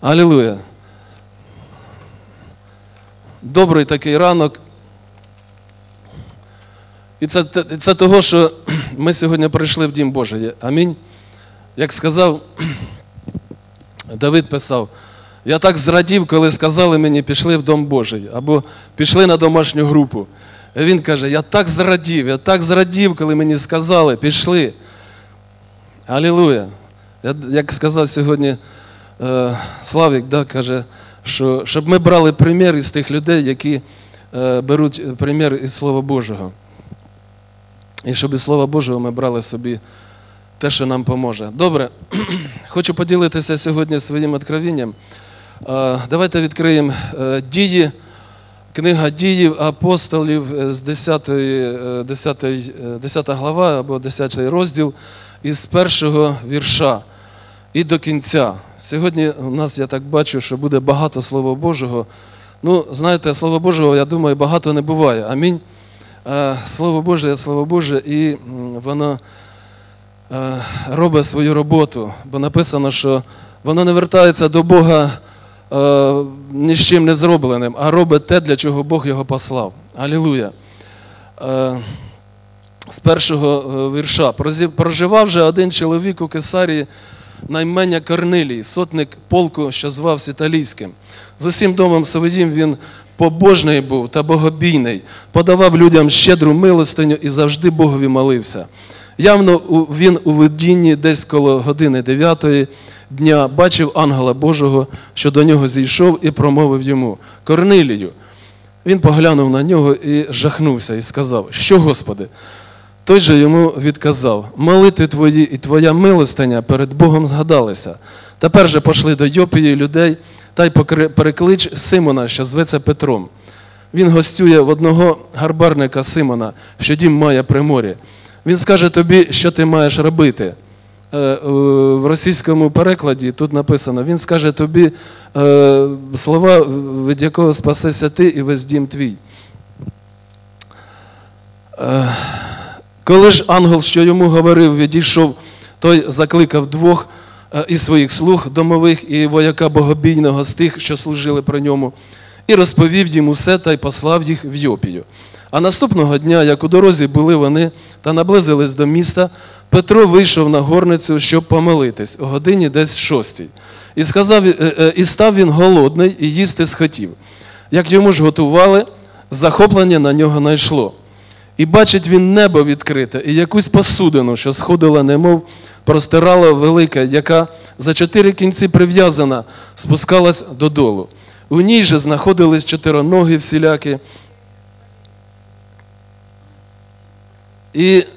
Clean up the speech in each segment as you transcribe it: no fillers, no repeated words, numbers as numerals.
Алілуя! Добрий такий ранок. І це того, що ми сьогодні прийшли в Дім Божий. Амінь. Як сказав, Давид писав, я так зрадів, коли сказали мені, пішли в Дом Божий, або пішли на домашню групу. І він каже, я так зрадів, коли мені сказали, пішли. Алілуя. Як сказав сьогодні Славік, каже, що щоб ми брали примір із тих людей, які беруть примір із Слова Божого. І щоб із Слова Божого ми брали собі те, що нам поможе. Добре, хочу поділитися сьогодні своїм откровенням. Давайте відкриємо Дії, книга Діїв апостолів з 10 глава або 10 розділ із першого вірша і до кінця. Сьогодні у нас, я так бачу, що буде багато Слова Божого. Ну, знаєте, Слова Божого, я думаю, багато не буває. Амінь. Слово Боже, і воно робить свою роботу, бо написано, що воно не вертається до Бога ні з чим не зробленим, а робить те, для чого Бог його послав. Алілуя. З першого вірша. Проживав же один чоловік у Кесарії на ім'я Корнилій, сотник полку, що звався Італійським. З усім домом своїм він побожний був та богобійний, подавав людям щедру милостиню і завжди Богові молився. Явно він у видінні десь коло години 9 дня бачив ангела Божого, що до нього зійшов і промовив йому: «Корнилію». Він поглянув на нього і жахнувся, і сказав: «Що, Господи?» Той же йому відказав: «Молитви твої і твоя милостиня перед Богом згадалися. Тепер же пошли до Йопії людей та й переклич Симона, що зветься Петром. Він гостює в одного гарбарника Симона, що дім має при морі. Він скаже тобі, що ти маєш робити». В російському перекладі тут написано: «Він скаже тобі слова, від якого спасешся ти і весь дім твій». Коли ж ангел, що йому говорив, відійшов, той закликав двох із своїх слуг домових і вояка богобійного з тих, що служили при ньому, і розповів їм усе та й послав їх в Йопію. А наступного дня, як у дорозі були вони та наблизились до міста, Петро вийшов на горницю, щоб помолитись, о годині десь 6. І став він голодний, і їсти схотів. Як йому ж готували, захоплення на нього найшло. І бачить він небо відкрите, і якусь посудину, що сходила, немов простирала велика, яка за 4 кінці прив'язана, спускалась додолу. У ній же знаходились 4 всілякі, і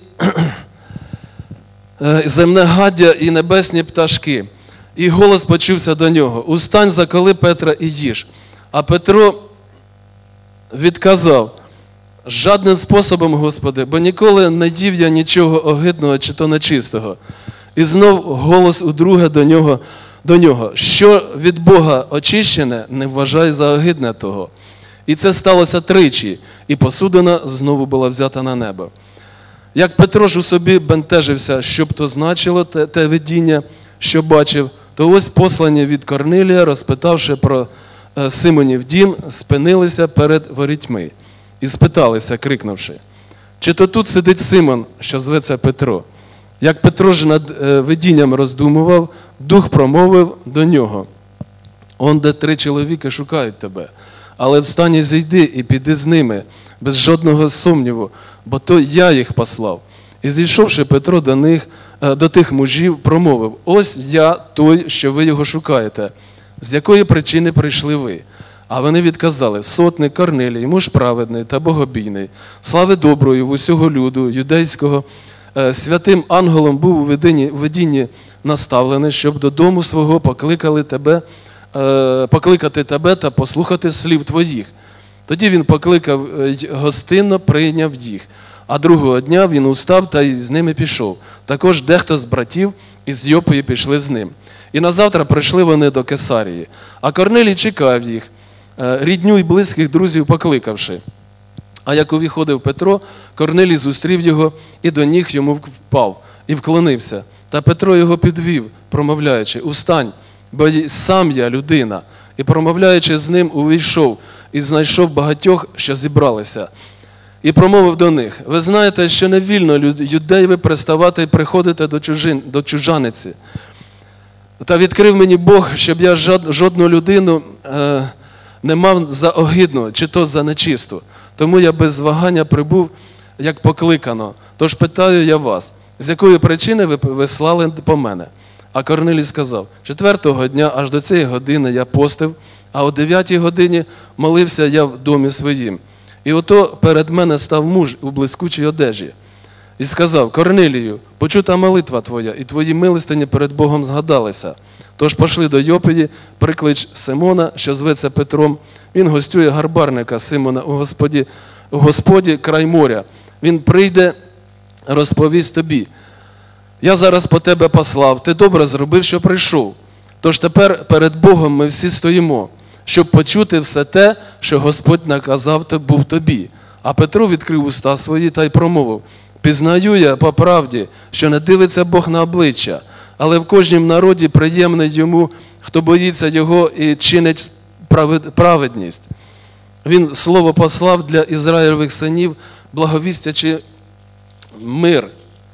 земне гаддя, і небесні пташки. І голос почувся до нього: «Устань, заколи Петра і їж». А Петро відказав: «Жадним способом, Господи, бо ніколи не їв я нічого огидного чи то нечистого». І знов голос удруге до нього: «Що від Бога очищене, не вважай за огидне того». І це сталося 3, і посудина знову була взята на небо. Як Петро ж у собі бентежився, що б то значило те видіння, що бачив, то ось послані від Корнилія, розпитавши про Симонів дім, спинилися перед ворітьми і спиталися, крикнувши: «Чи то тут сидить Симон, що зветься Петро?» Як Петро ж над видінням роздумував, Дух промовив до нього: «Он де 3 чоловіки шукають тебе, але встань і зійди, і піди з ними, без жодного сумніву, бо то я їх послав». І зійшовши Петро до тих мужів, промовив: «Ось я той, що ви його шукаєте. З якої причини прийшли ви?» А вони відказали: «Сотник Корнилій, муж праведний та богобійний, слави доброї в усього люду юдейського, святим ангелом був у видінні наставлений, щоб додому свого покликати тебе та послухати слів твоїх». Тоді він покликав, гостинно прийняв їх. А другого дня він устав та й з ними пішов. Також дехто з братів із Йопої пішли з ним. І назавтра прийшли вони до Кесарії. А Корнилій чекав їх, рідню й близьких друзів покликавши. А як увіходив Петро, Корнилій зустрів його і до ніг йому впав, і вклонився. Та Петро його підвів, промовляючи: «Устань, бо й сам я людина. І промовляючи з ним, увійшов і знайшов багатьох, що зібралися. І промовив до них: ви знаєте, що не вільно юдеєві приставати і приходити до чужаниці. Та відкрив мені Бог, щоб я жодну людину не мав за огидну, чи то за нечисту. Тому я без вагання прибув, як покликано. Тож питаю я вас, з якої причини ви слали по мене? А Корнилій сказав: 4-го дня аж до цієї години я постив, а о 9-й годині молився я в домі своїм. І ото перед мене став муж у блискучій одежі. І сказав: Корнилію, почута молитва твоя, і твої милостині перед Богом згадалися. Тож пошли до Йопії, приклич Симона, що зветься Петром. Він гостює гарбарника Симона у Господі край моря. Він прийде, розповість тобі. Я зараз по тебе послав, ти добре зробив, що прийшов. Тож тепер перед Богом ми всі стоїмо, щоб почути все те, що Господь наказав був тобі. А Петро відкрив уста свої та й промовив: пізнаю я по правді, що не дивиться Бог на обличчя, але в кожнім народі приємний йому, хто боїться його і чинить праведність. Він слово послав для Ізраїлевих синів, благовістячи мир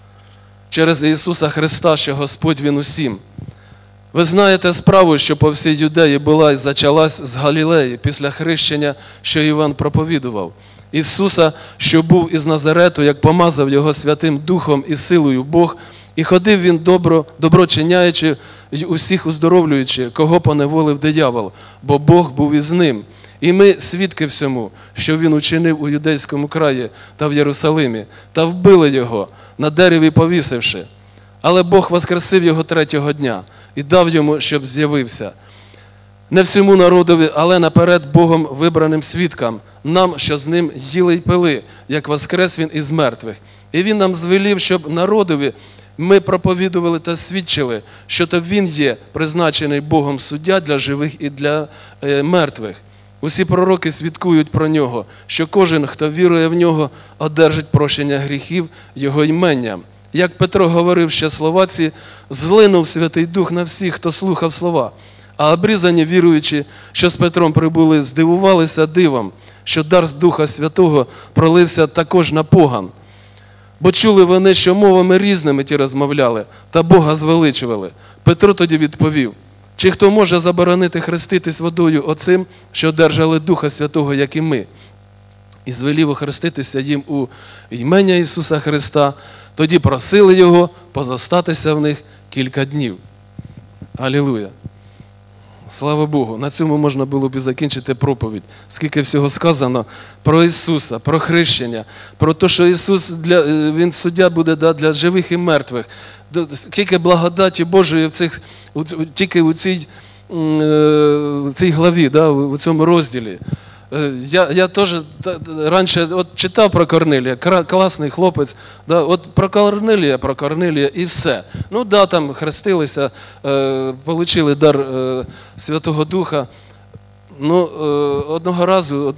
через Ісуса Христа, що Господь Він усім. Ви знаєте справу, що по всій Юдеї була і зачалась з Галілеї після хрещення, що Іван проповідував. Ісуса, що був із Назарету, як помазав його Святим Духом і силою Бог, і ходив він добро чиняючи, й усіх уздоровлюючи, кого поневолив диявол, бо Бог був із ним. І ми свідки всьому, що він учинив у Юдейському краї та в Єрусалимі, та вбили його, на дереві повісивши. Але Бог воскресив його 3-го дня і дав йому, щоб з'явився. Не всьому народові, але наперед Богом вибраним свідкам, нам, що з ним їли й пили, як воскрес він із мертвих. І він нам звелів, щоб народові ми проповідували та свідчили, що то він є призначений Богом суддя для живих і для мертвих. Усі пророки свідкують про нього, що кожен, хто вірує в нього, одержить прощення гріхів його іменням. Як Петро говорив ще слова ці, злинув Святий Дух на всіх, хто слухав слова. А обрізані віруючі, що з Петром прибули, здивувалися дивом, що дар з Духа Святого пролився також на поган. Бо чули вони, що мовами різними ті розмовляли, та Бога звеличували. Петро тоді відповів: чи хто може заборонити хреститись водою оцим, що одержали Духа Святого, як і ми? І звелів охреститися їм у ім'я Ісуса Христа. Тоді просили Його позостатися в них кілька днів. Алілуя! Слава Богу! На цьому можна було б і закінчити проповідь. Скільки всього сказано про Ісуса, про хрещення, про те, що Ісус, Він суддя буде для живих і мертвих. Скільки благодаті Божої тільки у цій главі, у цьому розділі. Я теж раніше читав про Корнилія, класний хлопець, от про Корнилія і все. Ну да, там хрестилися, отримали дар Святого Духа. Ну, одного разу,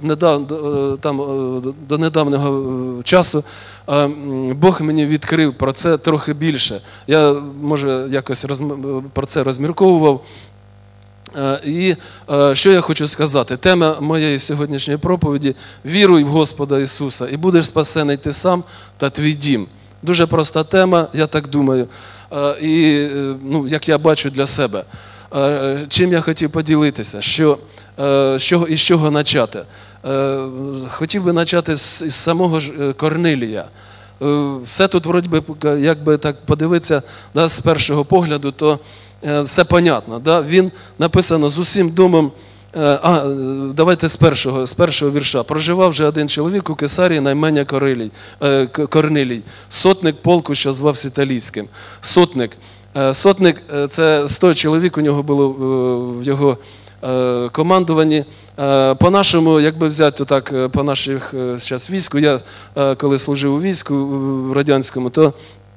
до недавнього часу, Бог мені відкрив про це трохи більше. Я, може, якось про це розмірковував. І що я хочу сказати? Тема моєї сьогоднішньої проповіді – «Віруй в Господа Ісуса, і будеш спасений ти сам та твій дім». Дуже проста тема, я так думаю, і як я бачу для себе. Чим я хотів поділитися, із чого почати? Хотів би почати з самого ж Корнилія. Все тут, вроді би, якби так подивитися, з першого погляду, то все понятно. Він написано з усім домом, давайте з першого вірша. Проживав вже один чоловік у Кесарії на ім'я Корнилій, сотник полку, що звався Італійським. Сотник – це 100 чоловік у нього було в його командуванні. По-нашому, якби взяти так, по наших зараз війську, я коли служив у війську в радянському, то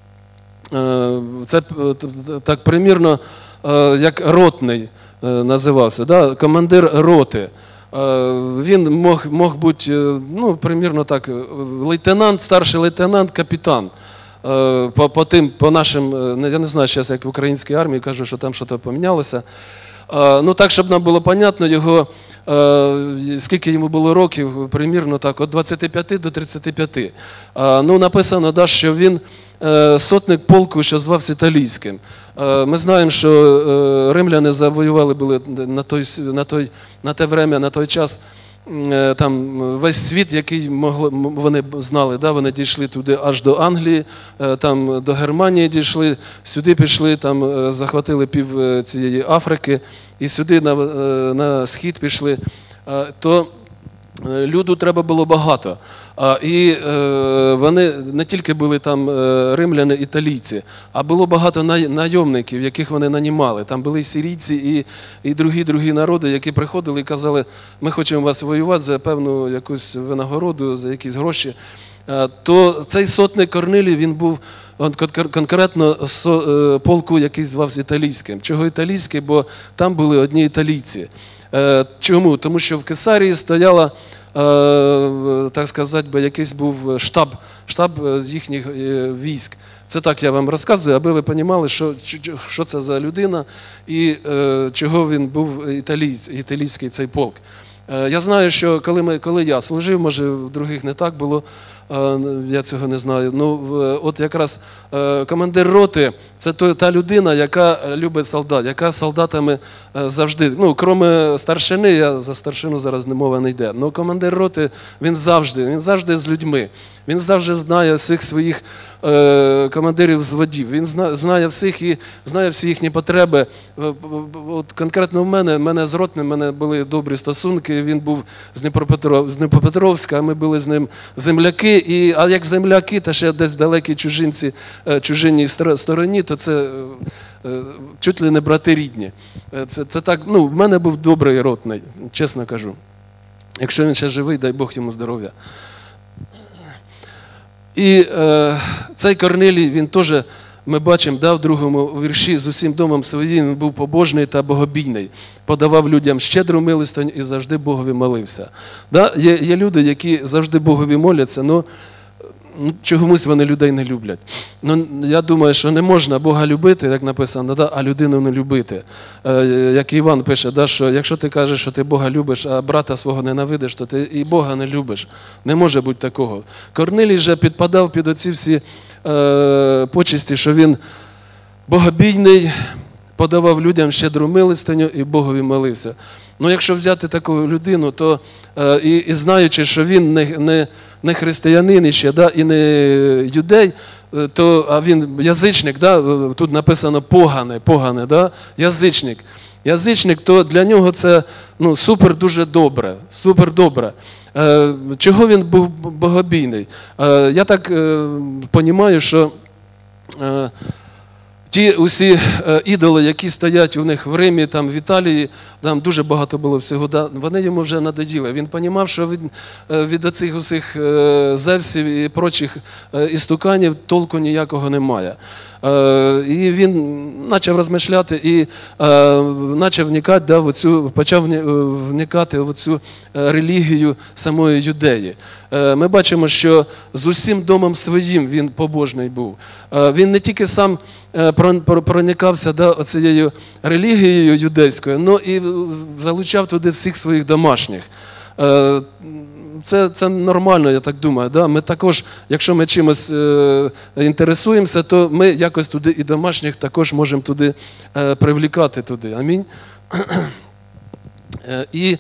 це так примірно, як ротний називався, командир роти. Він мог бути, примірно так, лейтенант, старший лейтенант, капітан. По нашим, я не знаю зараз, як в українській армії, кажу, що там щось помінялося. Ну так, щоб нам було понятно, його, скільки йому було років, примірно так, від 25 до 35. Ну написано, да, що він сотник полку, що звався Італійським. Ми знаємо, що римляни завоювали були на те время, на той час, там весь світ, який вони знали, да, вони дійшли туди аж до Англії, там до Германії дійшли, сюди пішли, там захватили пів цієї Африки і сюди на схід пішли. То люду треба було багато. І вони не тільки були там римляни, італійці, а було багато найомників, яких вони нанімали. Там були і сирійці, і другі народи, які приходили і казали, ми хочемо вас воювати за певну якусь винагороду, за якісь гроші. То цей сотник Корнилій, він був конкретно полку, який звався Італійським. Чого Італійський? Бо там були одні італійці. Чому? Тому що в Кесарії стояла, так сказати, якийсь був штаб з їхніх військ. Це так я вам розказую, аби ви розуміли, що це за людина і чого він був італійський цей полк. Я знаю, що коли я служив, може в других не так було, я цього не знаю. Ну, от якраз командир роти – це та людина, яка любить солдат, яка з солдатами завжди, ну, крім старшини, я за старшину зараз мова не йде, але командир роти, він завжди з людьми. Він завжди знає всіх своїх командирів взводів, він знає всіх і знає всі їхні потреби. От конкретно в мене з ротним, в мене були добрі стосунки, він був з Дніпропетровська, ми були з ним земляки, а як земляки, та ще десь в далекій чужинній стороні, то це чуть ли не брати рідні. Це так, ну, в мене був добрий ротний, чесно кажу. Якщо він ще живий, дай Бог йому здоров'я. І цей Корнилій, він теж, ми бачимо, в другому вірші, з усім домом своїм, він був побожний та богобійний, подавав людям щедру милостиню і завжди Богові молився. Є люди, які завжди Богові моляться, але чомусь вони людей не люблять. Я думаю, що не можна Бога любити, як написано, а людину не любити. Як Іван пише, що якщо ти кажеш, що ти Бога любиш, а брата свого ненавидиш, то ти і Бога не любиш. Не може бути такого. Корнилій же підпадав під оці всі почесті, що він богобійний, подавав людям щедру милостиню і Богові молився. Ну, якщо взяти таку людину, то і знаючи, що він не християнин ще, і не юдей, а він язичник, тут написано поганий, язичник. Язичник, то для нього це супер дуже добре, супер добре. Чого він був богобійний? Я так розумію, що ті усі ідоли, які стоять у них в Римі, там, в Італії, там дуже багато було всього, вони йому вже надоїли. Він розумів, що від оцих усіх Зевсів і прочих істуканів толку ніякого немає. І він почав розмишляти і почав вникати в цю релігію самої Юдеї. Ми бачимо, що з усім домом своїм він побожний був. Він не тільки сам проникався цією релігією юдейською, але і залучав туди всіх своїх домашніх. Це нормально, я так думаю. Ми також, якщо ми чимось інтересуємося, то ми якось туди і домашніх також можемо туди привлікати туди. Амінь. І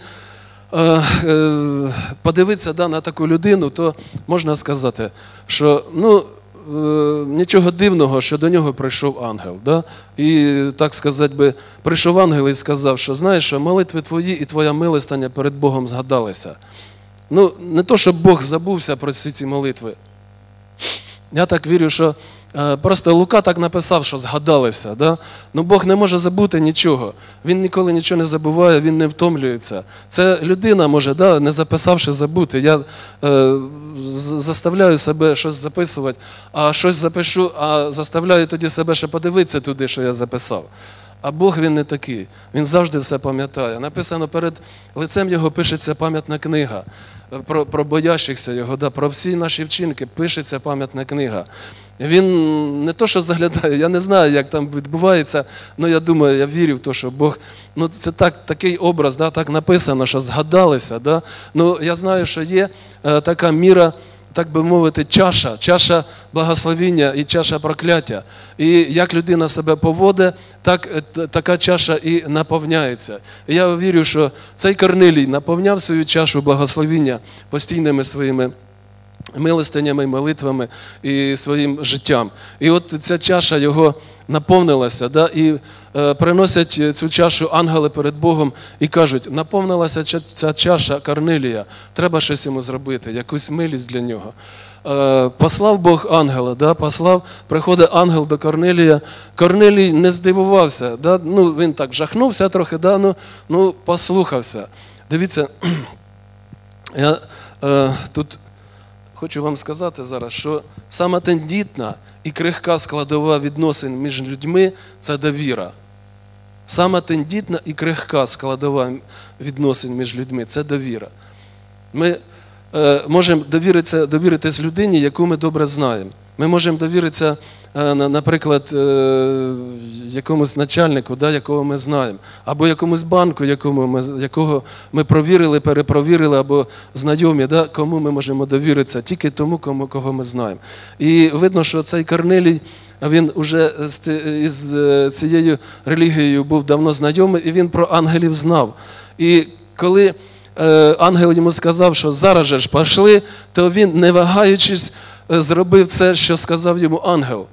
подивитися на таку людину, то можна сказати, що нічого дивного, що до нього прийшов ангел. І, так сказати, прийшов ангел і сказав, що знаєш, що молитви твої і твоя милостиня перед Богом згадалися. Не то, щоб Бог забувся про всі ці молитви. Я так вірю, що просто Лука так написав, що згадалися. Бог не може забути нічого. Він ніколи нічого не забуває, він не втомлюється. Це людина може, не записавши, забути. Я заставляю себе щось записувати, а щось запишу, а заставляю тоді себе ще подивитися туди, що я записав. А Бог, він не такий. Він завжди все пам'ятає. Написано, перед лицем його пишеться пам'ятна книга. Про боящихся його, про всі наші вчинки пишеться пам'ятна книга. Він не то, що заглядає, я не знаю, як там відбувається, але я думаю, я вірю в те, що Бог, це такий образ, так написано, що згадалися. Я знаю, що є така міра, так би мовити, чаша благословіння і чаша прокляття. І як людина себе поводить, така чаша і наповняється. І я вірю, що цей Корнилій наповняв свою чашу благословіння постійними своїми милостинями, молитвами і своїм життям. І от ця чаша його наповнилася, і приносять цю чашу ангели перед Богом і кажуть, наповнилася ця чаша Корнилія, треба щось йому зробити, якусь милість для нього. Послав Бог ангела, приходить ангел до Корнилія. Корнилій не здивувався, він так жахнувся трохи, послухався. Дивіться, я тут хочу вам сказати зараз, що сама тендітна і крихка складова відносин між людьми – це довіра. Сама тендітна і крихка складова відносин між людьми – це довіра. Ми можемо довіритись людині, яку ми добре знаємо. Ми можемо довіритися, наприклад, якомусь начальнику, якого ми знаємо, або якомусь банку, якого ми провірили, перепровірили, або знайомі, кому ми можемо довіритися, тільки тому, кого ми знаємо. І видно, що цей Корнилій, він вже із цією релігією був давно знайомий, і він про ангелів знав. І коли ангел йому сказав, що зараз же ж пішли, то він, не вагаючись, зробив це, що сказав йому ангел.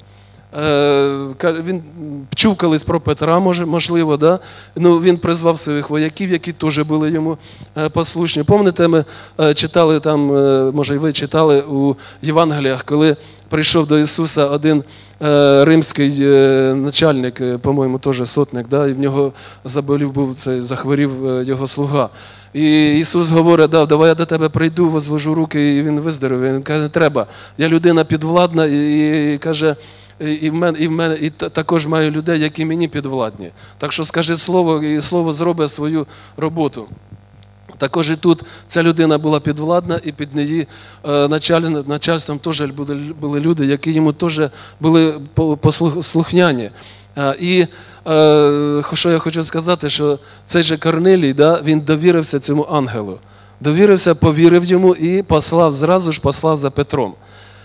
Він чув колись про Петра, можливо, він призвав своїх вояків, які теж були йому послушні. Пам'ятаєте, ми читали там, може і ви читали у Євангеліях, коли прийшов до Ісуса один римський начальник, по-моєму, теж сотник, і в нього захворів його слуга. І Ісус говорить, давай я до тебе прийду, возложу руки, і він виздоровів. Він каже, не треба, я людина підвладна, і каже, і також маю людей, які мені підвладні. Так що скажи слово, і слово зробить свою роботу. Також і тут ця людина була підвладна, і під її начальством теж були люди, які йому теж були послухняні. І що я хочу сказати, що цей же Корнилій, він довірився цьому ангелу. Довірився, повірив йому і зразу ж послав за Петром.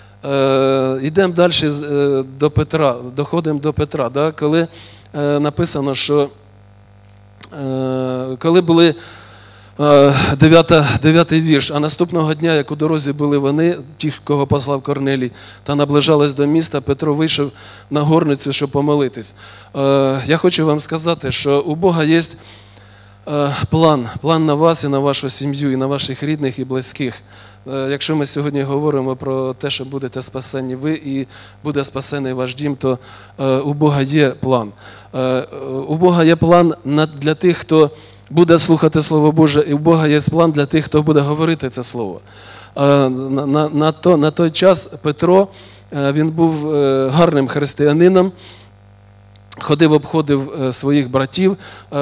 Йдемо далі до Петра, доходимо до Петра, коли написано, що коли були 9-й вірш, а наступного дня, як у дорозі були вони, ті, кого послав Корнилій, та наближались до міста, Петро вийшов на горницю, щоб помолитись. Я хочу вам сказати, що у Бога є план на вас і на вашу сім'ю, і на ваших рідних і близьких. Якщо ми сьогодні говоримо про те, що будете спасені ви і буде спасений ваш дім, то у Бога є план. У Бога є план для тих, хто буде слухати Слово Боже, і у Бога є план для тих, хто буде говорити це Слово. На той час Петро, він був гарним християнином, обходив своїх братів,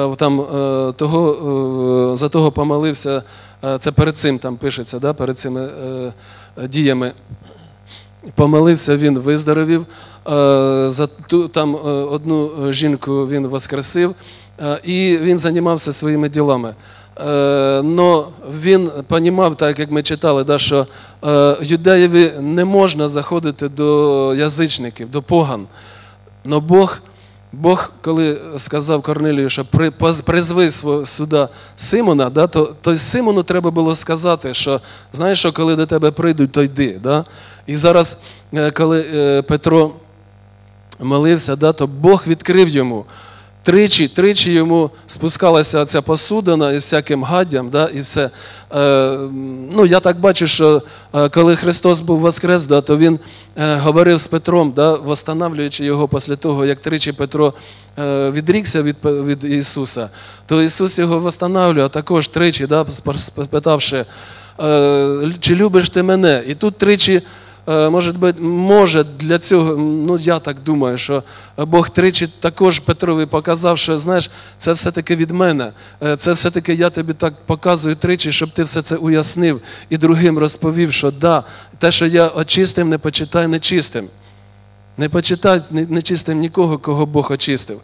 за того помолився, це перед цим там пишеться, перед цими діями. Помолився, він виздоровів, там одну жінку він воскресив, і він займався своїми ділами. Но він розумів, так як ми читали, що юдеєві не можна заходити до язичників, до поган. Но Бог, коли сказав Корнилію, що призви сюди Симона, то Симону треба було сказати, що, знаєш, що коли до тебе прийдуть, то йди. І зараз, коли Петро молився, то Бог відкрив йому. Тричі йому спускалася ця посудина із всяким гаддям, і все. Я так бачу, що коли Христос був воскрес, то Він говорив з Петром, восстанавлюючи його після того, як тричі Петро відрікся від Ісуса, то Ісус його восстанавлював також тричі, спитавши, чи любиш ти мене? І тут тричі, може для цього, я так думаю, що Бог тричі також Петрові показав, що, знаєш, це все-таки від мене, це все-таки я тобі так показую тричі, щоб ти все це уяснив і другим розповів, що те, що я очистив, не почитай нечистим. Не почитай нечистим нікого, кого Бог очистив.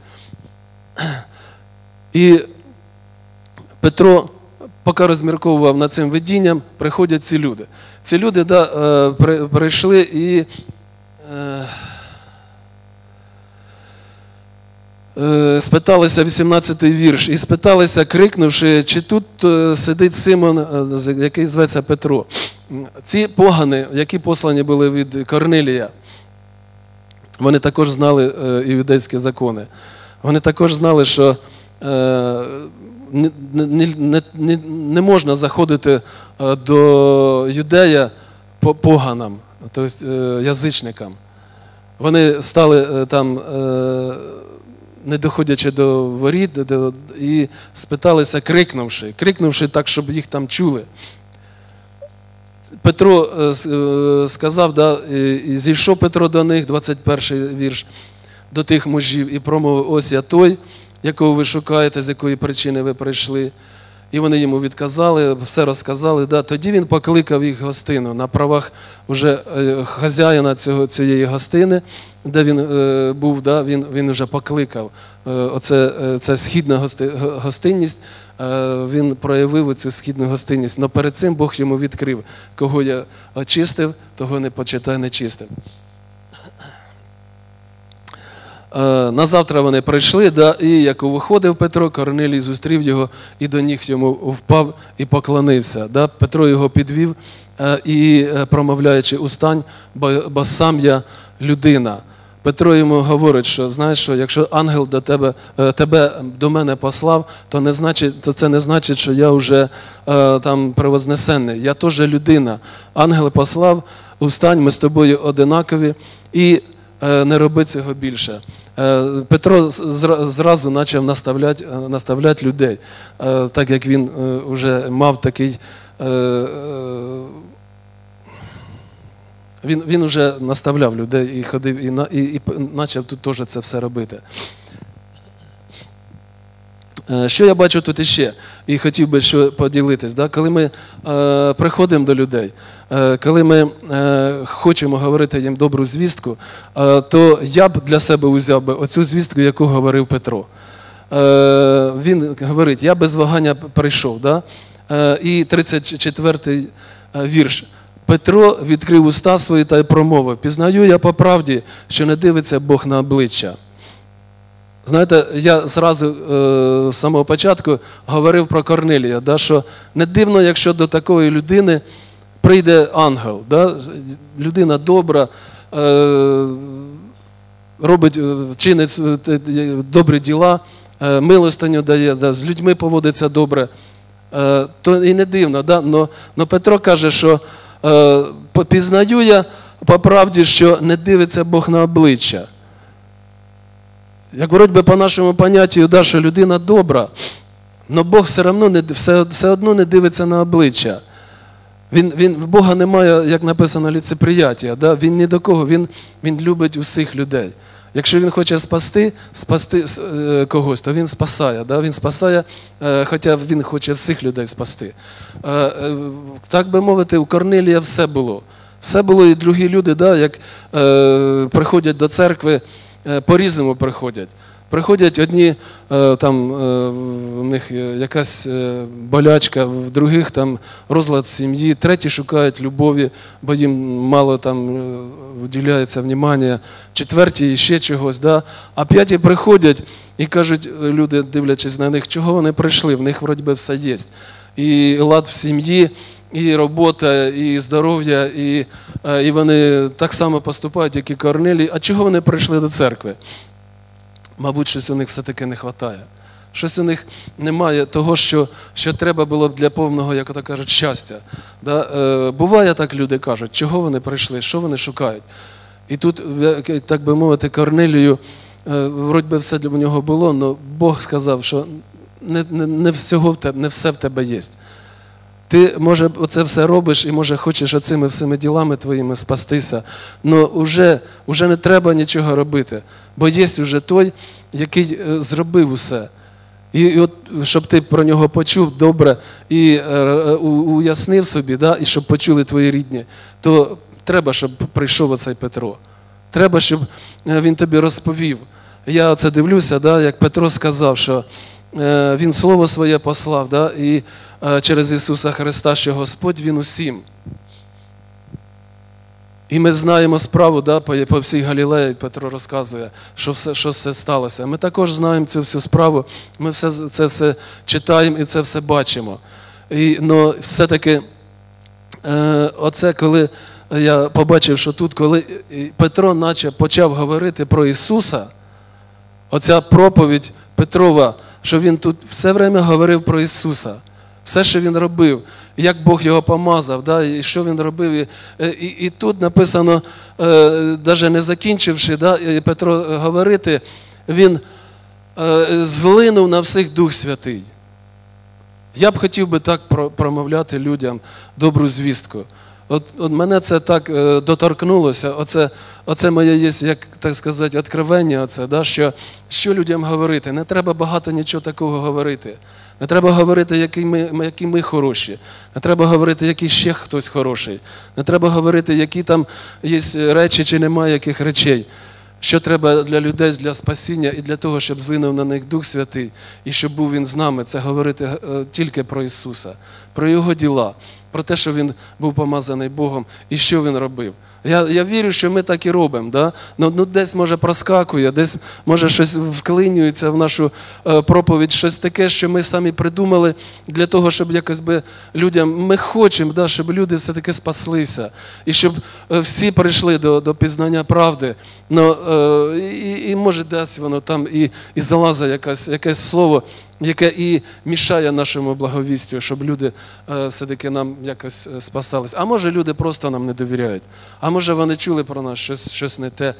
І Петро, поки розмірковував над цим видінням, приходять ці люди. Ці люди прийшли і спиталися, 18-й вірш, і спиталися, крикнувши, чи тут сидить Симон, який зветься Петро. Ці погани, які послані були від Корнилія, вони також знали іудейські закони. Вони також знали, що не можна заходити до юдея поганам, тобто язичникам. Вони стали там, не доходячи до воріт, і спиталися, крикнувши так, щоб їх там чули. Петро сказав, і зійшов Петро до них, 21-й вірш, до тих мужів, і промовив: ось я той, якого ви шукаєте, з якої причини ви прийшли. І вони йому відказали, все розказали. Тоді він покликав їх в гостину на правах вже хазяїна цієї гостини, де він був, він вже покликав. Це східна гостинність, він проявив цю східну гостинність. Але перед цим Бог йому відкрив: кого я очистив, того не почитай нечистим. Назавтра вони прийшли, і як виходив Петро, Корнилій зустрів його і до ніг йому впав і поклонився. Петро його підвів і, промовляючи: устань, бо сам я людина. Петро йому говорить, що знаєш що, якщо ангел тебе до мене послав, то це не значить, що я вже там превознесений. Я теж людина. Ангел послав: устань, ми з тобою одинакові, і не роби цього більше. Петро зразу почав наставляти людей, так як він вже мав такий, він вже наставляв людей і ходив, і почав тут теж це все робити. Що я бачу тут іще, і хотів би поділитись. Коли ми приходимо до людей, коли ми хочемо говорити їм добру звістку, то я б для себе узяв би оцю звістку, яку говорив Петро. Він говорить: я без вагання прийшов. І 34-й вірш. Петро відкрив уста свої та й промовив: пізнаю я по правді, що не дивиться Бог на обличчя. Знаєте, я зразу з самого початку говорив про Корнилія, що не дивно, якщо до такої людини прийде ангел. Людина добра, чинить добрі діла, милостиню дає, з людьми поводиться добре. То і не дивно. Но Петро каже, що пізнаю я по правді, що не дивиться Бог на обличчя. Як вроді би по нашому поняттю, що людина добра, але Бог все одно не дивиться на обличчя. В Бога немає, як написано, лицеприяття. Він ні до кого, він любить усіх людей. Якщо він хоче спасти когось, то він спасає. Він спасає, хоча він хоче всіх людей спасти. Так би мовити, у Корнилія все було. Все було, і другі люди, як приходять до церкви, по-різному приходять. Приходять одні, там у них якась болячка, в других там розлад сім'ї, треті шукають любові, бо їм мало там уділяється внимання, четверті ще чогось, а п'яті приходять і кажуть, люди, дивлячись на них, чого вони прийшли, в них вроді би все є. І лад в сім'ї, і робота, і здоров'я, і вони так само поступають, як і Корнилій. А чого вони прийшли до церкви? Мабуть, щось у них все-таки не вистачає. Щось у них немає того, що треба було б для повного, як ото кажуть, щастя. Буває так, люди кажуть, чого вони прийшли, що вони шукають. І тут, так би мовити, Корнилію, вроді би все для нього було, але Бог сказав, що не все в тебе є. Ти, може, оце все робиш і, може, хочеш оцими всіми ділами твоїми спастися, але вже не треба нічого робити, бо є вже той, який зробив усе. І от, щоб ти про нього почув добре і уяснив собі, і щоб почули твої рідні, то треба, щоб прийшов оцей Петро. треба, щоб він тобі розповів. Я оце дивлюся, да, як Петро сказав, що він Слово Своє послав, да, і через Ісуса Христа, що Господь, Він усім. І ми знаємо справу, да, по всій Галілеї, Петро розказує, що все сталося. Ми також знаємо цю всю справу, ми це все читаємо і це все бачимо. Но все-таки оце, коли я побачив, що тут, коли Петро наче почав говорити про Ісуса, оця проповідь Петрова, що він тут все время говорив про Ісуса. Все, що він робив, як Бог його помазав, да, і що він робив. І тут написано, навіть не закінчивши, да, Петро говорити, він злинув на всіх Дух Святий. Я б хотів би так промовляти людям добру звістку. От мене це так доторкнулося, оце моє є, як так сказати, відкривання, оце, да, що людям говорити. Не треба багато нічого такого говорити. Не треба говорити, які ми хороші. Не треба говорити, який ще хтось хороший. Не треба говорити, які там є речі чи немає яких речей. Що треба для людей, для спасіння і для того, щоб злинув на них Дух Святий, і щоб був Він з нами, це говорити тільки про Ісуса, про Його діла, про те, що Він був помазаний Богом і що Він робив. Я вірю, що ми так і робимо. Да? Ну, десь, може, проскакує, десь, може, щось вклинюється в нашу проповідь, щось таке, що ми самі придумали для того, щоб якось би людям, ми хочемо, да, щоб люди все-таки спаслися, і щоб всі прийшли до пізнання правди. І може, десь воно там і залазить якесь слово, яке і мішає нашому благовістю, щоб люди все-таки нам якось спасались. А може, люди просто нам не довіряють. А може, вони чули про нас щось не те,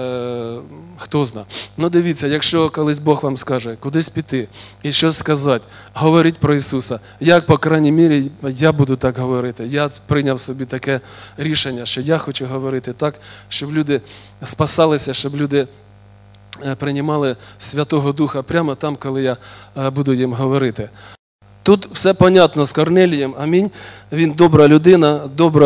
хто зна. Ну, дивіться, якщо колись Бог вам скаже, кудись піти і щось сказати, говоріть про Ісуса. Як, по крайній мірі, я буду так говорити. Я прийняв собі таке рішення, що я хочу говорити так, щоб люди спасалися, щоб люди приймали Святого Духа прямо там, коли я буду їм говорити. Тут все понятно з Корнелієм, амінь. Він добра людина,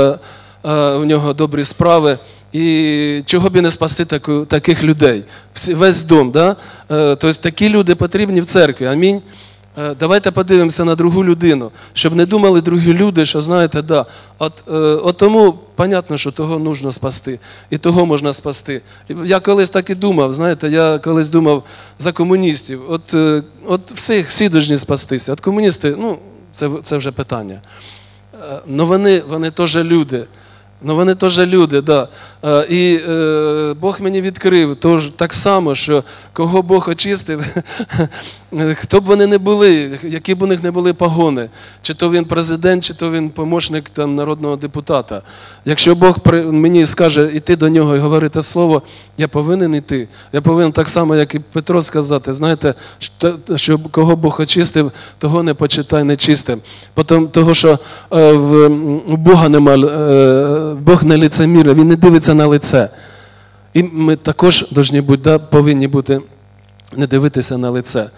у нього добрі справи. І чого б і не спасти таких людей? Весь дом, да? Тобто такі люди потрібні в церкві, амінь. Давайте подивимося на другу людину, щоб не думали другі люди, що, знаєте, да, от тому, понятно, що того нужно спасти, і того можна спасти. Я колись так і думав, знаєте, я колись думав за комуністів, от всі повинні спастися, от комуністи, ну, це вже питання. Но вони теж люди. Ну, вони теж люди, да. І Бог мені відкрив так само, що кого Бог очистив, хто б вони не були, які б у них не були погони, чи то він президент, чи то він помічник там, народного депутата. Якщо Бог мені скаже йти до нього і говорити слово, я повинен йти. Я повинен так само, як і Петро сказати, знаєте, що кого Бог очистив, того не почитай нечистим. Того, що у Бога немає, Бог не лицемір, Він не дивиться на лице. І ми також повинні бути, не дивитися на лице.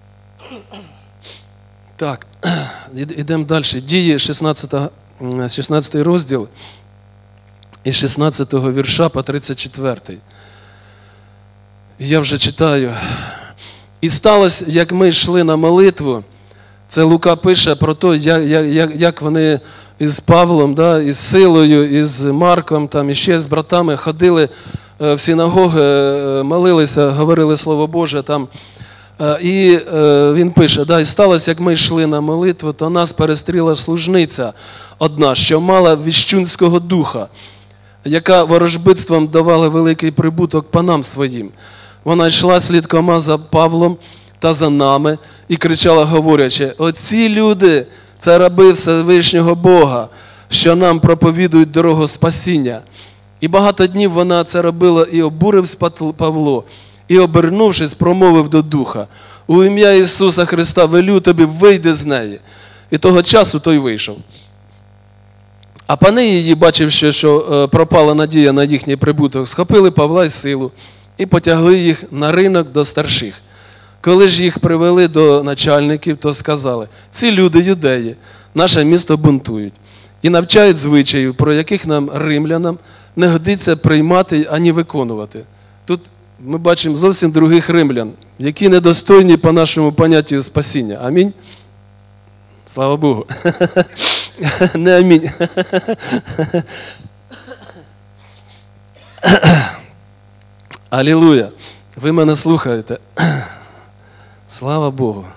Так, йдемо далі. Дії 16 розділ і 16 вірша по 34. Я вже читаю. І сталося, як ми йшли на молитву, це Лука пише про те, як вони із Павлом, да, із Силою, із Марком, там, і ще з братами ходили в синагоги, молилися, говорили Слово Боже. Там. І він пише, да, і сталося, як ми йшли на молитву, то нас перестріла служниця одна, що мала віщунського духа, яка ворожбитством давала великий прибуток панам своїм. Вона йшла слідкома за Павлом та за нами і кричала, говорячи, оці люди – це раби Всевишнього Бога, що нам проповідують дорогу спасіння. І багато днів вона це робила, і обурився Павло, і, обернувшись, промовив до духа, у ім'я Ісуса Христа велю тобі, вийди з неї. І того часу той вийшов. А пани її, бачивши, що пропала надія на їхній прибуток, схопили Павла й Силу і потягли їх на ринок до старших. Коли ж їх привели до начальників, то сказали, ці люди юдеї, наше місто бунтують і навчають звичаїв, про яких нам, римлянам, не годиться приймати, ані виконувати. Тут ми бачимо зовсім других римлян, які недостойні по нашому поняттю спасіння. Амінь? Слава Богу. Не амінь. Алілуя. Ви мене слухаєте. Слава Богу.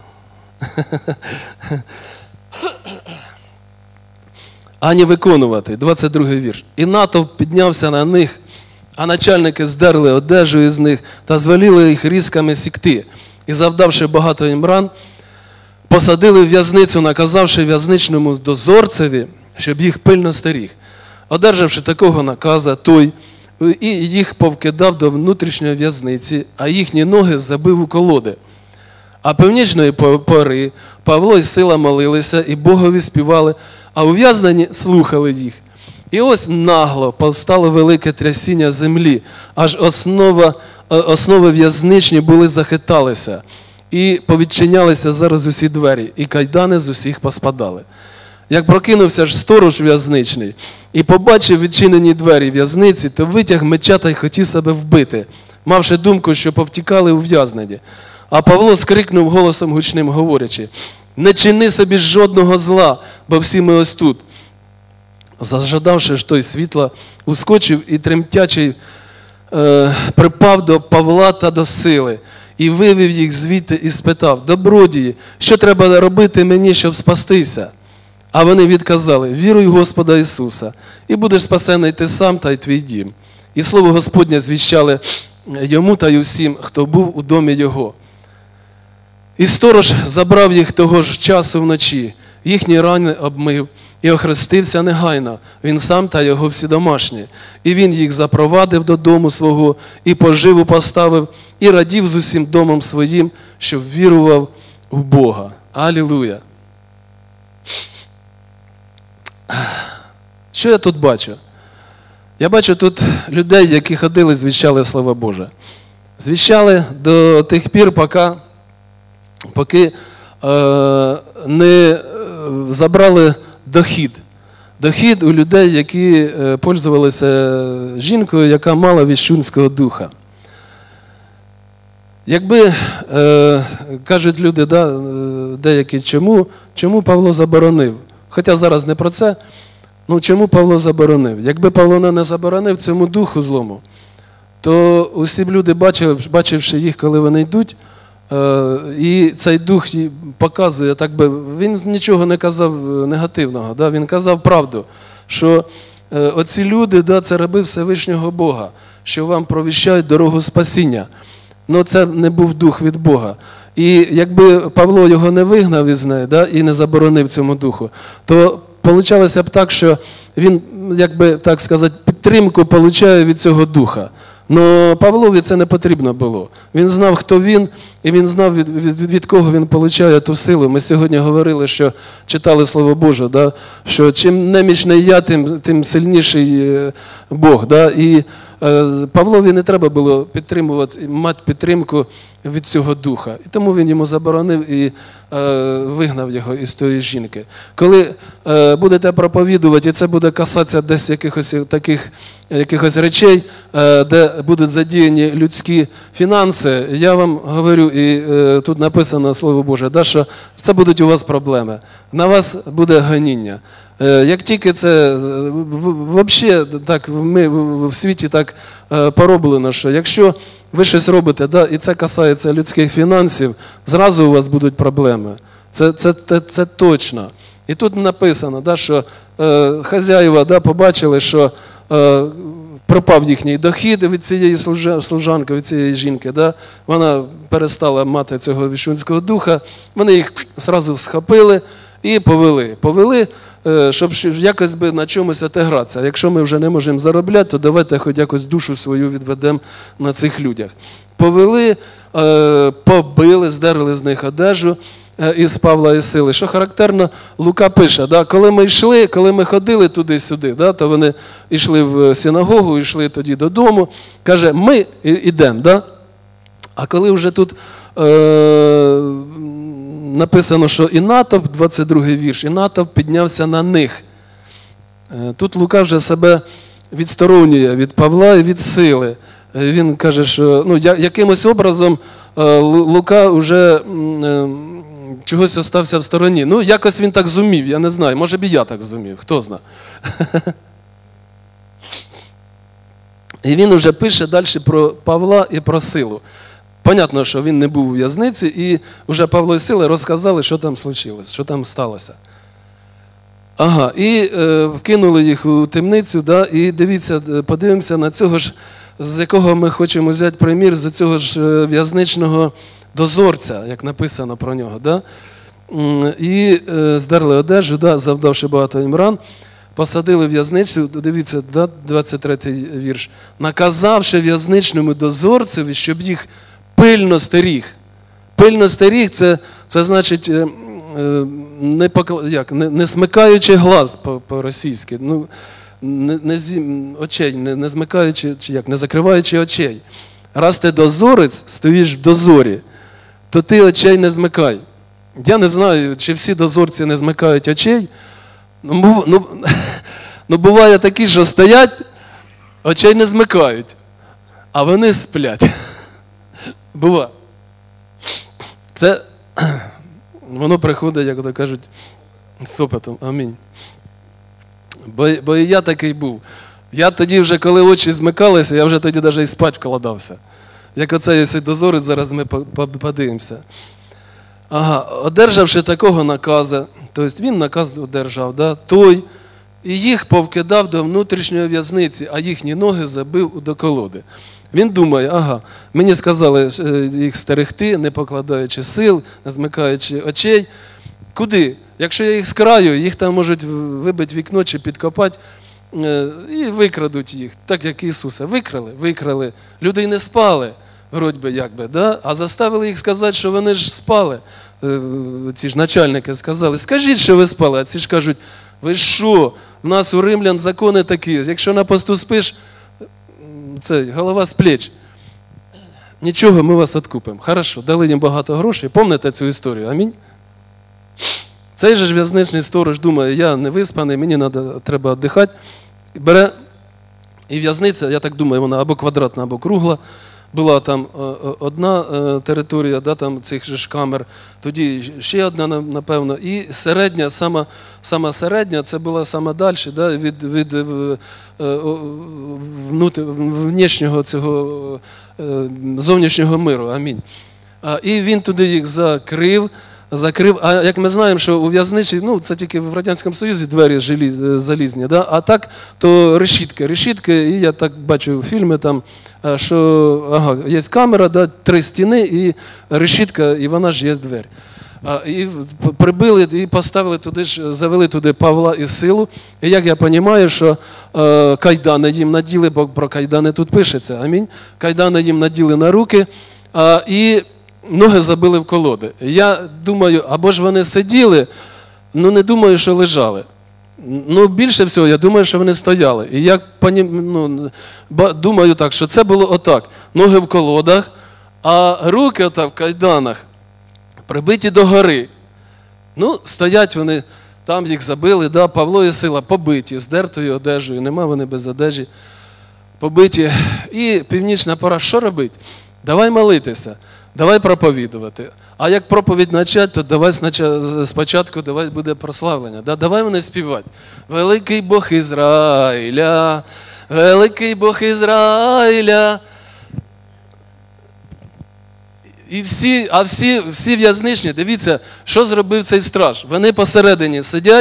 Ані виконувати. 22-й вірш. І натовп піднявся на них, а начальники здерли одежу із них та звеліли їх різками сікти. І, завдавши багато їм ран, посадили в в'язницю, наказавши в'язничному дозорцеві, щоб їх пильно стеріг. Одержавши такого наказа, той і їх повкидав до внутрішньої в'язниці, а їхні ноги забив у колоди. А північної пори Павло і Сила молилися, і Богові співали, а ув'язнені слухали їх. І ось нагло повстало велике трясіння землі, аж основи в'язничні були захиталися, і повідчинялися зараз усі двері, і кайдани з усіх поспадали. Як прокинувся ж сторож в'язничний і побачив відчинені двері в'язниці, то витяг меча та й хотів себе вбити, мавши думку, що повтікали ув'язнені. А Павло скрикнув голосом гучним, говорячи: «Не чини собі жодного зла, бо всі ми ось тут». Зажадавши ж той світла, ускочив і тремтячий припав до Павла та до Сили, і вивів їх звідти і спитав: «Добродії, що треба робити мені, щоб спастися?» А вони відказали: «Віруй в Господа Ісуса, і будеш спасений ти сам та й твій дім». І слово Господнє звіщали йому та й усім, хто був у домі його. І сторож забрав їх того ж часу вночі, їхні рани обмив, і охрестився негайно, він сам та його всі домашні. І він їх запровадив додому свого, і поживу поставив, і радів з усім домом своїм, щоб вірував в Бога. Алілуя! Що я тут бачу? Я бачу тут людей, які ходили, звіщали Слово Боже. Звіщали до тих пір, поки не забрали дохід. Дохід у людей, які пользувалися жінкою, яка мала віщунського духа. Якби, кажуть люди, деякі, чому Павло заборонив? Хоча зараз не про це, чому Павло заборонив? Якби Павло не заборонив цьому духу злому, то усі б люди, бачивши їх, коли вони йдуть, і цей дух показує, він нічого не казав негативного, він казав правду, що оці люди, це раби Всевишнього Бога, що вам провіщають дорогу спасіння. Но це не був дух від Бога. І якби Павло його не вигнав із неї, і не заборонив цьому духу, то получалося б так, що він, так сказати, підтримку получає від цього духа. Но Павлові це не потрібно було. Він знав, хто він, і він знав, від кого він получає ту силу. Ми сьогодні говорили, що читали Слово Боже, що чим немічний я, тим сильніший Бог. І Павлові не треба було мати підтримку від цього духа. І тому він йому заборонив і вигнав його із тої жінки. Коли будете проповідувати, і це буде касатися десь якихось речей, де будуть задіяні людські фінанси, я вам говорю, і тут написано Слово Боже, що це будуть у вас проблеми. На вас буде гоніння. Як тільки це, взагалі, так, ми в світі так пороблено, що якщо ви щось робите, і це касається людських фінансів, зразу у вас будуть проблеми. Це точно. І тут написано, що хазяїва побачили, що пропав їхній дохід від цієї служанки, від цієї жінки. Вона перестала мати цього віщунського духа, вони їх зразу схопили і повели. Повели, щоб якось би на чомусь отигратися. Якщо ми вже не можемо заробляти, то давайте хоч якось душу свою відведемо на цих людях. Повели, побили, здерли з них одежу із Павла і Сили. Що характерно, Лука пише, коли ми ходили туди-сюди, то вони йшли в синагогу, йшли тоді додому, каже, ми йдемо. А коли вже тут написано, що і натовп, 22-й вірш, і натовп піднявся на них. Тут Лука вже себе відсторонює від Павла і від сили. Він каже, що якимось образом Лука вже чогось остався в стороні. Якось він так зумів, я не знаю. Може б і я так зумів, хто знає. І він вже пише далі про Павла і про Силу. Понятно, що він не був у в'язниці, і вже Павло і Сила розказали, що там случилось, що там сталося. І вкинули їх у темницю, і дивіться, подивимося на цього ж, з якого ми хочемо взяти примір, з цього ж в'язничного дозорця, як написано про нього. І здерли одежу, завдавши багато їм ран, посадили в в'язницю, дивіться, 23-й вірш, наказавши в'язничному дозорцеві, щоб їх пильно стеріг. Пильно стеріг – це значить, не смикаючи глаз по-російськи, очей, не змикаючи, не закриваючи очей. Раз ти дозорець, стоїш в дозорі, то ти очей не змикай. Я не знаю, чи всі дозорці не змикають очей. Буває такі, що стоять, очей не змикають, а вони сплять. Буває. Це, воно приходить, як то кажуть, з опитом. Амінь. Бо і я такий був. Я тоді вже, коли очі змикалися, я вже тоді навіть і спать вкладався. Як оцей дозорець, зараз ми подивимося. Одержавши такого наказу, тобто він наказ одержав, той і їх повкидав до внутрішньої в'язниці, а їхні ноги забив до колоди. Він думає, мені сказали їх стерегти, не покладаючи сил, не змикаючи очей. Куди? Якщо я їх скраю, їх там можуть вибити вікно чи підкопати і викрадуть їх, так як Ісуса. Викрали. Люди й не спали, вроді би, а заставили їх сказати, що вони ж спали. Ці ж начальники сказали, скажіть, що ви спали. А ці ж кажуть, ви що, в нас у римлян закони такі, якщо на посту спиш, голова з плеч. Нічого, ми вас відкупимо. Хорошо, дали їм багато грошей. Пам'ятаєте цю історію? Амінь. Цей же в'язничний сторож думає, я не виспаний, мені треба віддихати. Бере і в'язниця, я так думаю, вона або квадратна, або кругла. Була там одна територія, там цих же ж камер, тоді ще одна, напевно, і середня, сама середня, це була сама далі, від внешнього цього зовнішнього миру. Амінь. І він туди їх закрив. А як ми знаємо, що у в'язниці, це тільки в Радянському Союзі двері залізні, а так, то решітки, і я так бачу фільми там, що є камера, 3 стіни і решітка, і вона ж є двері. І прибили, і поставили туди ж, завели туди Павла і Силу. І як я розумію, що кайдани їм наділи, бо про кайдани тут пишеться, амінь. Кайдани їм наділи на руки, і ноги забили в колоди. Я думаю, або ж вони сиділи, не думаю, що лежали. Більше всього, я думаю, що вони стояли. І я думаю так, що це було отак. Ноги в колодах, а руки отак в кайданах прибиті до гори. Стоять вони, там їх забили, Павло і Сила побиті, з дертою одежею, нема вони без одежі, побиті. І північна пора, що робити? Давай молитися. Давай проповідувати. А як проповідь почати, то давай спочатку буде прославлення. Давай вони співати. Великий Бог Ізраїля, великий Бог Ізраїля. І всі в'язничні, дивіться, що зробив цей страж. Вони посередині сидять,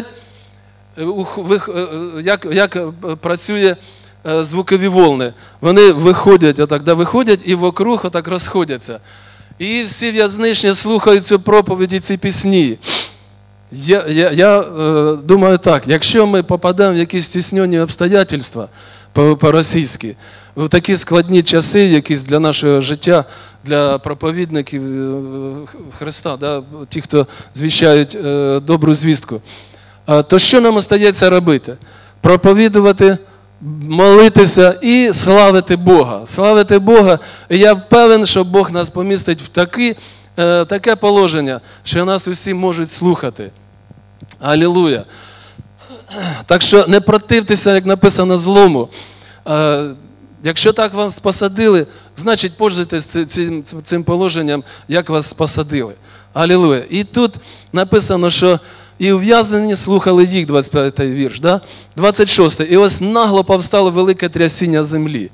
як працює звукові волни. Вони виходять, виходять і вокруг отак розходяться. І всі в'язничні слухають цю проповідь і ці пісні. Я думаю так, якщо ми попадемо в якісь стіснені обстоятельства по-російськи, в такі складні часи, якісь для нашого життя, для проповідників Христа, ті, хто звіщають добру звістку, то що нам остається робити? Проповідувати, молитися і славити Бога. Славити Бога. І я впевнений, що Бог нас помістить в таке положення, що нас усі можуть слухати. Алілуя. Так що не противтеся, як написано, злому. Якщо так вас посадили, значить пользуйтесь цим положенням, як вас посадили. Алілуя. І тут написано, що і ув'язнені слухали їх, 25-й вірш, да? 26-й. І ось нагло повстало велике трясіння землі.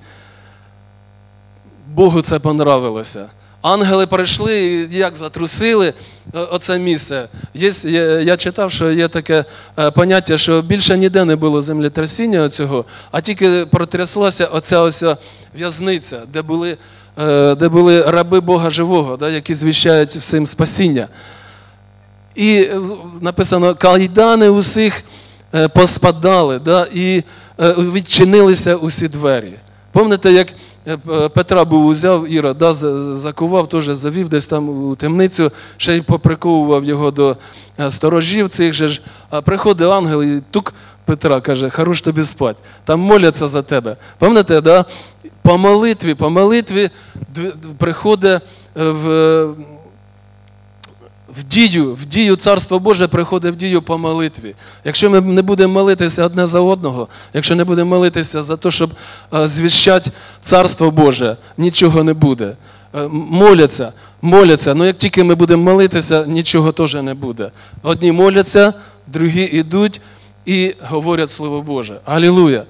Богу це понравилося. Ангели прийшли і як затрусили оце місце. Я читав, що є таке поняття, що більше ніде не було землетрясіння цього, а тільки протряслася оця ось в'язниця, де були раби Бога живого, да, які звіщають всім спасіння. І написано, кайдани усіх поспадали, да, і відчинилися усі двері. Пам'ятаєте, як Петра був узяв, Ірод, да, закував, теж завів десь там у темницю, ще й поприковував його до сторожів цих же ж. А приходить ангел і тук Петра каже, хорош тобі спать, там моляться за тебе. Пам'ятаєте, да? По молитві приходить в дію Царство Боже приходить в дію по молитві. Якщо ми не будемо молитися одне за одного, якщо не будемо молитися за те, щоб звіщати Царство Боже, нічого не буде. Моляться, але як тільки ми будемо молитися, нічого теж не буде. Одні моляться, другі йдуть і говорять Слово Боже. Алілуя!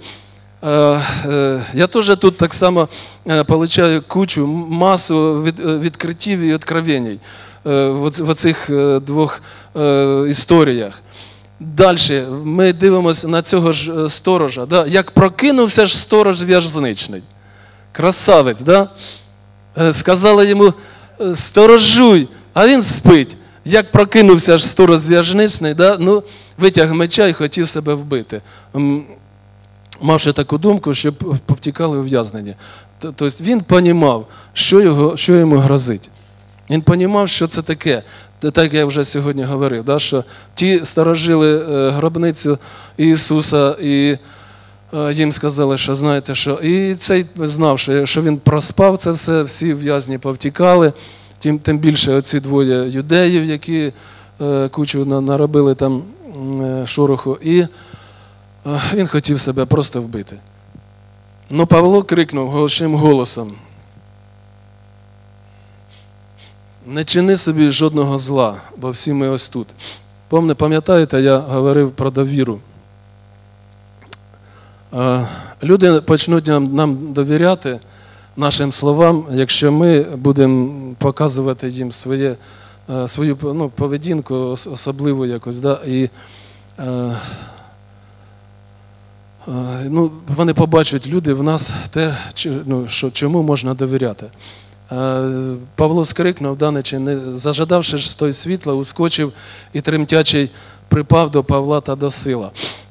Я теж тут так само отримую масу відкриттів і відкровень в цих двох історіях. Далі ми дивимося на цього ж сторожа. Да? Як прокинувся ж сторож в'язничний. Красавець, да? Сказали йому, сторожуй, а він спить. Як прокинувся ж сторож в'язничний, да? Ну, витяг меча і хотів себе вбити. Мавши таку думку, щоб повтікали ув'язнення. Тобто він розумів, що йому грозить. Він розумів, що це таке. Так, як я вже сьогодні говорив, да, що ті сторожили гробницю Ісуса, і їм сказали, що знаєте що. І цей знав, що він проспав це все, всі в'язні повтікали, тим більше оці двоє юдеїв, які кучу наробили там шороху, і він хотів себе просто вбити. Ну Павло крикнув гучним голосом, не чини собі жодного зла, бо всі ми ось тут. Пам'ятаєте, я говорив про довіру. Люди почнуть нам довіряти нашим словам, якщо ми будемо показувати їм свою поведінку особливу якось. Да? І вони побачать, люди, в нас те, чому можна довіряти. Павло скрикнув, зажадавши ж той світла, ускочив і тремтячий припав до Павла та до Сила.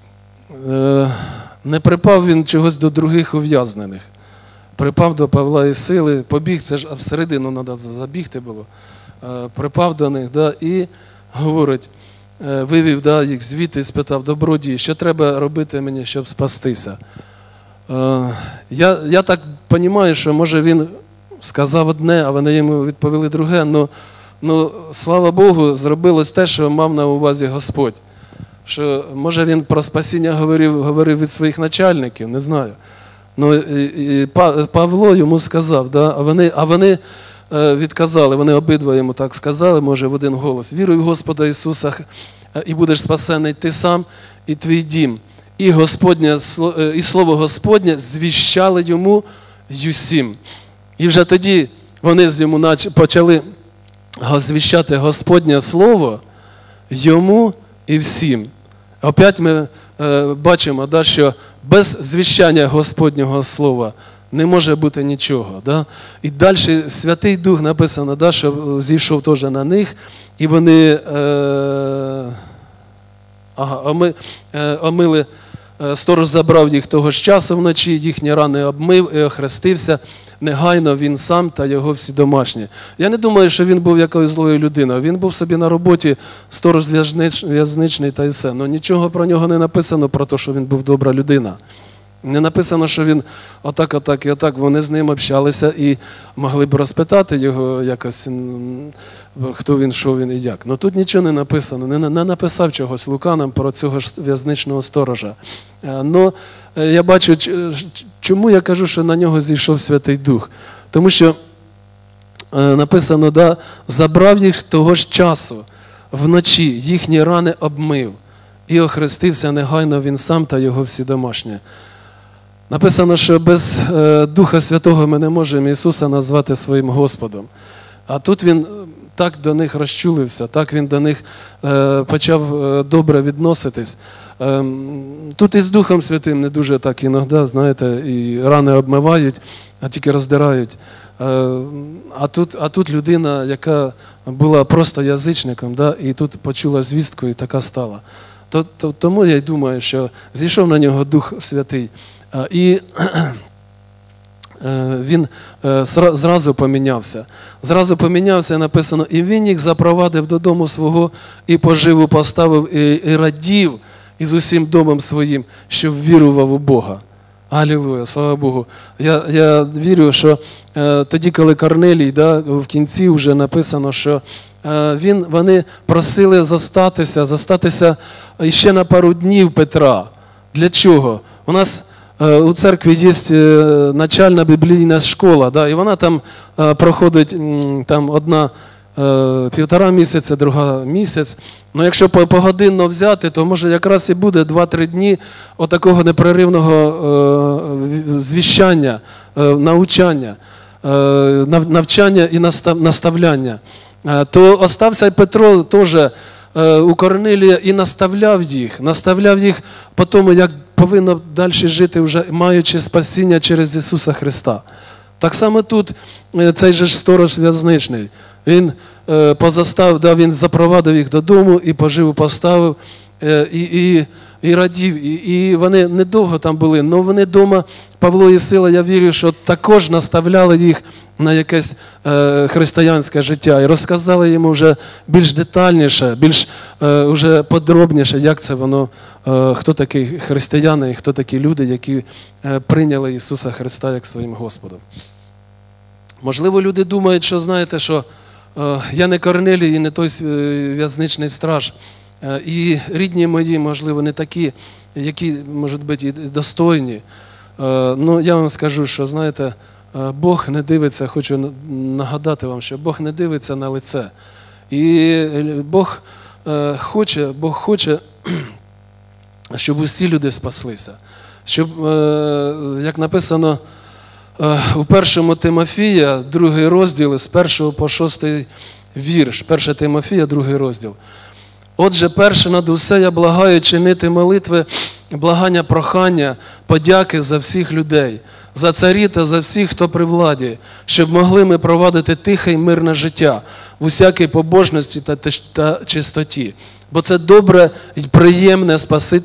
Не припав він чогось до других ув'язнених. Припав до Павла і Сили, побіг, це ж всередину треба забігти було. Припав до них, да, і говорить, вивів, да, їх звідти і спитав, добродій, що треба робити мені, щоб спастися? Я так розумію, що може він сказав одне, а вони йому відповіли друге, але, слава Богу, зробилось те, що мав на увазі Господь. Що, може, він про спасіння говорив від своїх начальників, не знаю. І Павло йому сказав, да, а вони відказали, вони обидва йому так сказали, може, в один голос. Віруй в Господа Ісуса, і будеш спасений ти сам, і твій дім. І слово Господнє звіщали йому й усім. І вже тоді вони йому почали звіщати Господнє Слово йому і всім. Опять ми бачимо, да, що без звіщання Господнього Слова не може бути нічого. Да? І далі Святий Дух написано, да, що зійшов теж на них, і вони омили, сторож забрав їх того ж часу вночі, їхні рани обмив і охрестився. Негайно він сам та його всі домашні. Я не думаю, що він був якоюсь злою людиною. Він був собі на роботі, сторож в'язничний та й все. Но нічого про нього не написано, про те, що він був добра людина. Не написано, що він отак і отак. Вони з ним общалися і могли б розпитати його якось, хто він, що він і як. Но тут нічого не написано, не написав чогось Лука нам про цього в'язничного сторожа. Но я бачу, чому я кажу, що на нього зійшов Святий Дух. Тому що написано, забрав їх того ж часу, вночі їхні рани обмив і охрестився негайно він сам та його всі домашні. Написано, що без Духа Святого ми не можемо Ісуса назвати своїм Господом. А тут Він так до них розчулився, так Він до них почав добре відноситись. Тут із Духом Святим не дуже так іноді, знаєте, і рани обмивають, а тільки роздирають. А тут людина, яка була просто язичником, і тут почула звістку і така стала. Тому я й думаю, що зійшов на нього Дух Святий. І він зразу помінявся. Зразу помінявся, написано, і він їх запровадив додому свого, і поживу поставив, і радів із усім домом своїм, щоб вірував у Бога. Алілуя, слава Богу. Я вірю, що тоді, коли Корнелій, в кінці вже написано, що вони просили зостатися ще на пару днів Петра. Для чого? У нас у церкві є начальна біблійна школа, і вона там проходить одна 1,5 місяця, друга місяць. Ну, якщо погодинно взяти, то може якраз і буде 2-3 дні отакого непреривного звіщання, навчання і наставляння. То остався й Петро теж у Корнилія і наставляв їх по тому, як повинно далі жити, вже маючи спасіння через Ісуса Христа. Так само тут цей же сторож в'язничний. Він він запровадив їх додому і поживу поставив, і радів. І вони недовго там були, але вони вдома, Павло і Сила, я вірю, що також наставляли їх на якесь християнське життя. І розказали йому вже більш детальніше, більш вже подробніше, як це воно, хто такі християни і хто такі люди, які прийняли Ісуса Христа як своїм Господом. Можливо, люди думають, що, знаєте, що я не Корнелій і не той в'язничний страж. І рідні мої, можливо, не такі, які, може бути, і достойні. Ну, я вам скажу, що, знаєте, Бог не дивиться, хочу нагадати вам, що Бог не дивиться на лице. І Бог хоче, щоб усі люди спаслися. Щоб, як написано у 1 Тимофія, 2 розділ, з 1 по 6 вірш, 1 Тимофія, 2 розділ. Отже, перше над усе я благаю чинити молитви, благання, прохання, подяки за всіх людей, за царів та за всіх, хто при владі, щоб могли ми провадити тихе й мирне життя в усякій побожності та чистоті. Бо це добре і приємне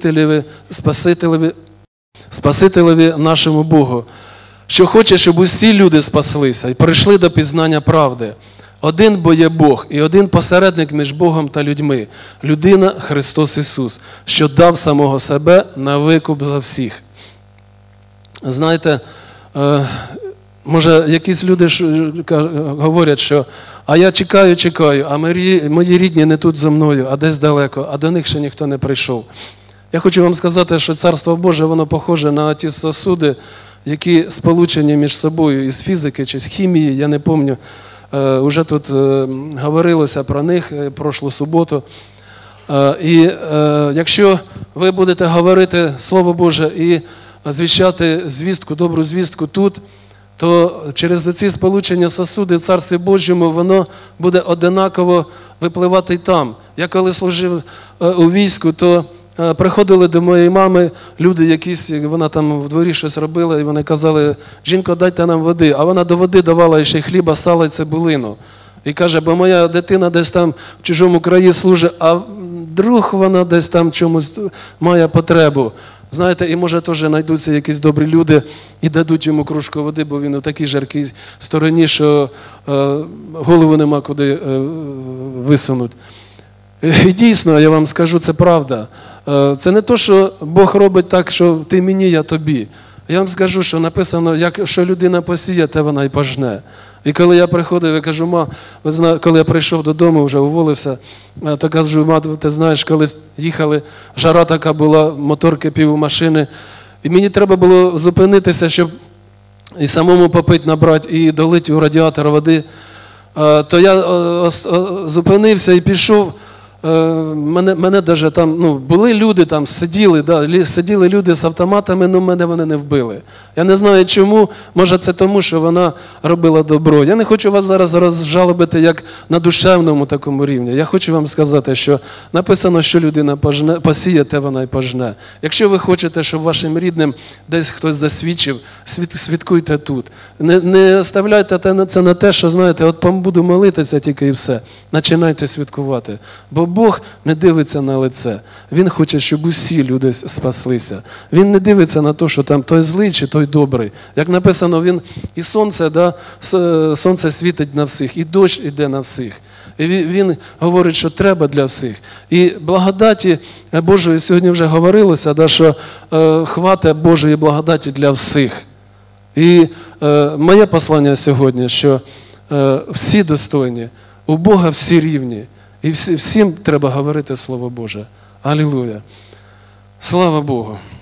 Спасителеві нашому Богу, що хоче, щоб усі люди спаслися і прийшли до пізнання правди. Один бо є Бог, і один посередник між Богом та людьми, людина Христос Ісус, що дав самого себе на викуп за всіх. Знаєте, може якісь люди говорять, що а я чекаю, а мої рідні не тут зо мною, а десь далеко, а до них ще ніхто не прийшов. Я хочу вам сказати, що Царство Боже, воно похоже на ті сосуди, які сполучені між собою із фізики чи з хімії, я не пам'ятаю. Уже тут говорилося про них прошлу суботу. І якщо ви будете говорити Слово Боже і звіщати звістку, добру звістку тут, то через ці сполучення сосуди в Царстві Божому воно буде однаково випливати й там. Я коли служив у війську, то приходили до моєї мами люди якісь, вона там в дворі щось робила, і вони казали: жінко, дайте нам води. А вона до води давала ще хліба, сала і цибулину. І каже, бо моя дитина десь там в чужому краї служить, а вдруг вона десь там чомусь має потребу. Знаєте, і може теж знайдуться якісь добрі люди і дадуть йому кружку води, бо він у такій жаркій стороні, що голову нема куди висунути. І дійсно, я вам скажу, це правда. Це не то, що Бог робить так, що ти мені, я тобі. Я вам скажу, що написано, що людина посіє, те вона й пожне. І коли я приходив, я кажу, ви знаєте, коли я прийшов додому, вже уволився, то кажу, ти знаєш, коли їхали, жара така була, мотор кипів у машини, і мені треба було зупинитися, щоб і самому попити, набрати, і долити у радіатор води, то я зупинився і пішов. Мене даже там, були люди там, сиділи люди з автоматами, але мене вони не вбили. Я не знаю чому, може це тому, що вона робила добро. Я не хочу вас зараз розжалобити як на душевному такому рівні. Я хочу вам сказати, що написано, що людина посіє, те вона й пожне. Якщо ви хочете, щоб вашим рідним десь хтось засвідчив, свідкуйте тут. Не оставляйте це на те, що, знаєте, от буду молитися тільки і все. Починайте свідкувати. Бо Бог не дивиться на лице. Він хоче, щоб усі люди спаслися. Він не дивиться на те, що там той злий чи той добрий. Як написано, він і сонце світить на всіх, і дощ іде на всіх. І він говорить, що треба для всіх. І благодаті Божої, сьогодні вже говорилося, що хватить Божої благодаті для всіх. І моє послання сьогодні, що всі достойні, у Бога всі рівні. І всім треба говорити Слово Боже. Алілуя. Слава Богу.